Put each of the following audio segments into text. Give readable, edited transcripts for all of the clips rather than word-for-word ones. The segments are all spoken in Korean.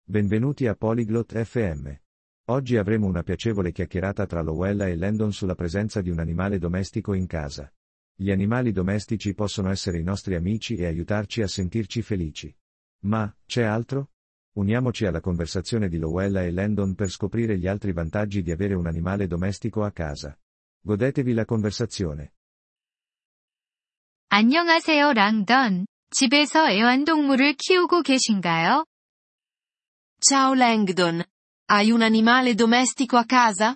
Benvenuti a Polyglot FM. Oggi avremo una piacevole chiacchierata tra Lowella e Landon sulla presenza di un animale domestico in casa. Gli animali domestici possono essere i nostri amici e aiutarci a sentirci felici. Ma, c'è altro? Uniamoci alla conversazione di Lowella e Landon per scoprire gli altri vantaggi di avere un animale domestico a casa. Godetevi la conversazione. 안녕하세요, 랑던. 집에서 애완동물을 키우고 계신가요? Ciao Langdon. Hai un animale domestico a casa?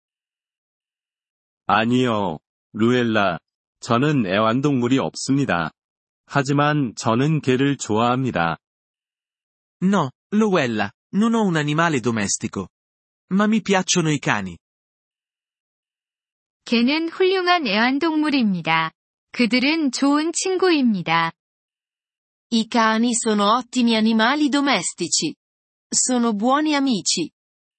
아니요, 루엘라. 저는 애완동물이 없습니다. 하지만 저는 개를 좋아합니다. No, Lowella, non ho un animale domestico. Ma mi piacciono i cani. 개는 훌륭한 애완동물입니다. 그들은 좋은 친구입니다. I cani sono ottimi animali domestici. Sono buoni amici.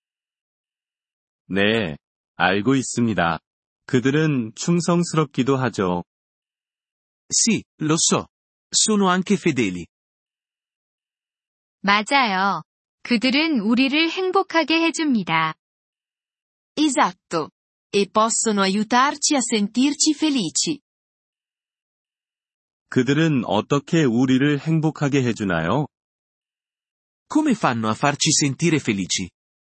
네, 알고 있습니다. 그들은 충성스럽기도 하죠. Sì, lo so. Sono anche fedeli. 맞아요. 그들은 우리를 행복하게 해줍니다. Esatto. E possono aiutarci a sentirci felici. 그들은 어떻게 우리를 행복하게 해주나요? Come fanno a farci sentire felici?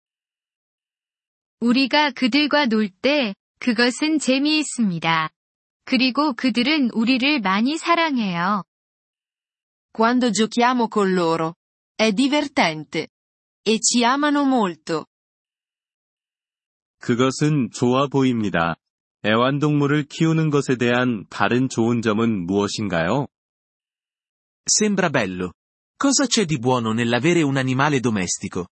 우리가 그들과 놀 때, 그것은 재미있습니다. 그리고 그들은 우리를 많이 사랑해요. Quando giochiamo con loro. È divertente. E ci amano molto. 그것은 좋아 보입니다. 애완동물을 키우는 것에 대한 다른 좋은 점은 무엇인가요? Sembra bello. Cosa c'è di buono nell'avere un animale domestico?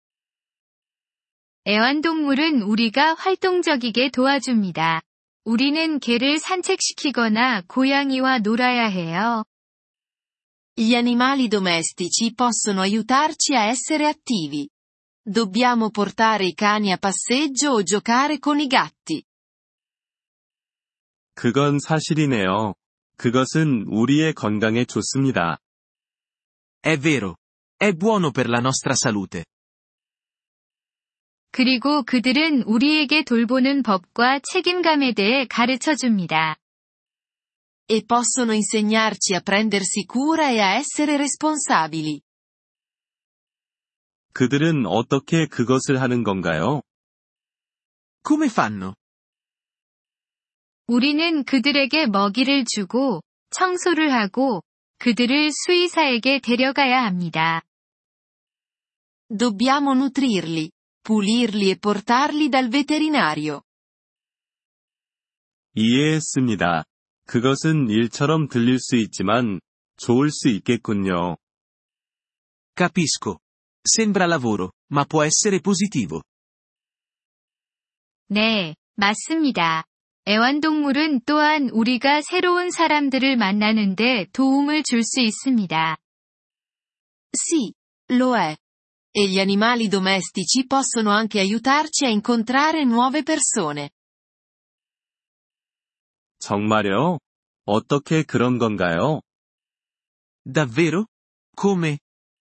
애완동물은 우리가 활동적이게 도와줍니다. 우리는 개를 산책시키거나 고양이와 놀아야 해요. Gli animali domestici possono aiutarci a essere attivi. Dobbiamo portare i cani a passeggio o giocare con i gatti. 그건 사실이네요. 그것은 우리의 건강에 좋습니다. È vero. È buono per la nostra salute. 그리고 그들은 우리에게 돌보는 법과 책임감에 대해 가르쳐 줍니다. E possono insegnarci a prendersi cura e a essere responsabili. 그들은 어떻게 그것을 하는 건가요? Come fanno? 우리는 그들에게 먹이를 주고, 청소를 하고, 그들을 수의사에게 데려가야 합니다. Dobbiamo nutrirli, pulirli e portarli dal veterinario. 이해했습니다. 그것은 일처럼 들릴 수 있지만, 좋을 수 있겠군요. Capisco. Sembra lavoro, ma può essere positivo. 네, 맞습니다. 애완동물은 또한 우리가 새로운 사람들을 만나는데 도움을 줄 수 있습니다. Sì, lo è. E gli animali domestici possono anche aiutarci a incontrare nuove persone. 정말요? 어떻게 그런 건가요? Davvero? Come?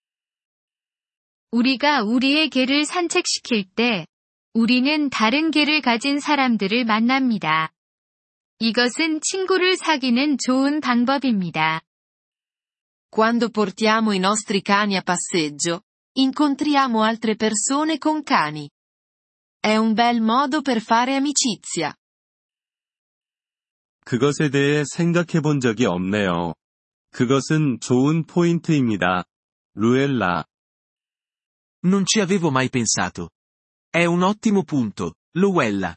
우리가 우리의 개를 산책시킬 때, 우리는 다른 개를 가진 사람들을 만납니다. 이것은 친구를 사귀는 좋은 방법입니다. Quando portiamo i nostri cani a passeggio, incontriamo altre persone con cani. È un bel modo per fare amicizia. 그것에 대해 생각해 본 적이 없네요. 그것은 좋은 포인트입니다. 루엘라. Non ci avevo mai pensato. È un ottimo punto, Lowella.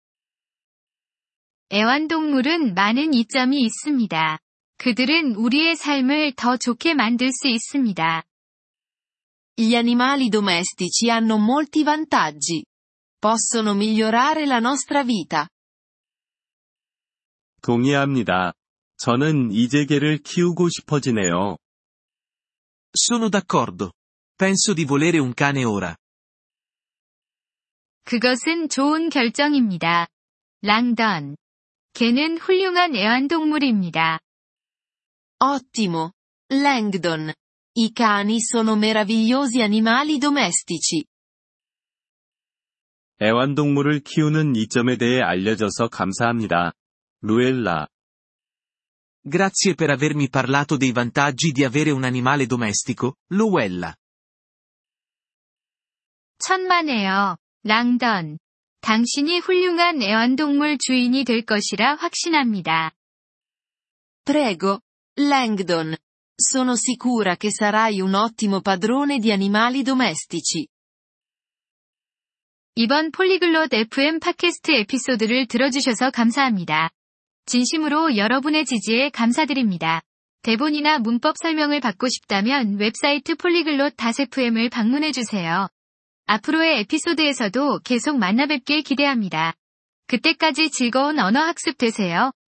애완동물은 많은 이점이 있습니다. 그들은 우리의 삶을 더 좋게 만들 수 있습니다. Gli animali domestici hanno molti vantaggi. Possono migliorare la nostra vita. 동의합니다. 저는 이제 개를 키우고 싶어지네요. Sono d'accordo. Penso di volere un cane ora. 그것은 좋은 결정입니다. 랑던. 개는 훌륭한 애완동물입니다. Ottimo. Langdon. I cani sono meravigliosi animali domestici. 애완동물을 키우는 이점에 대해 알려줘서 감사합니다. 루엘라. Grazie per avermi parlato dei vantaggi di avere un animale domestico, Luella. 천만에요, 랑던. 당신이 훌륭한 애완동물 주인이 될 것이라 확신합니다. Prego, Langdon. Sono sicura che sarai un ottimo padrone di animali domestici. 이번 폴리글롯 FM 팟캐스트 에피소드를 들어주셔서 감사합니다. 진심으로 여러분의 지지에 감사드립니다. 대본이나 문법 설명을 받고 싶다면 웹사이트 polyglot.fm을 방문해주세요. 앞으로의 에피소드에서도 계속 만나뵙길 기대합니다. 그때까지 즐거운 언어 학습 되세요.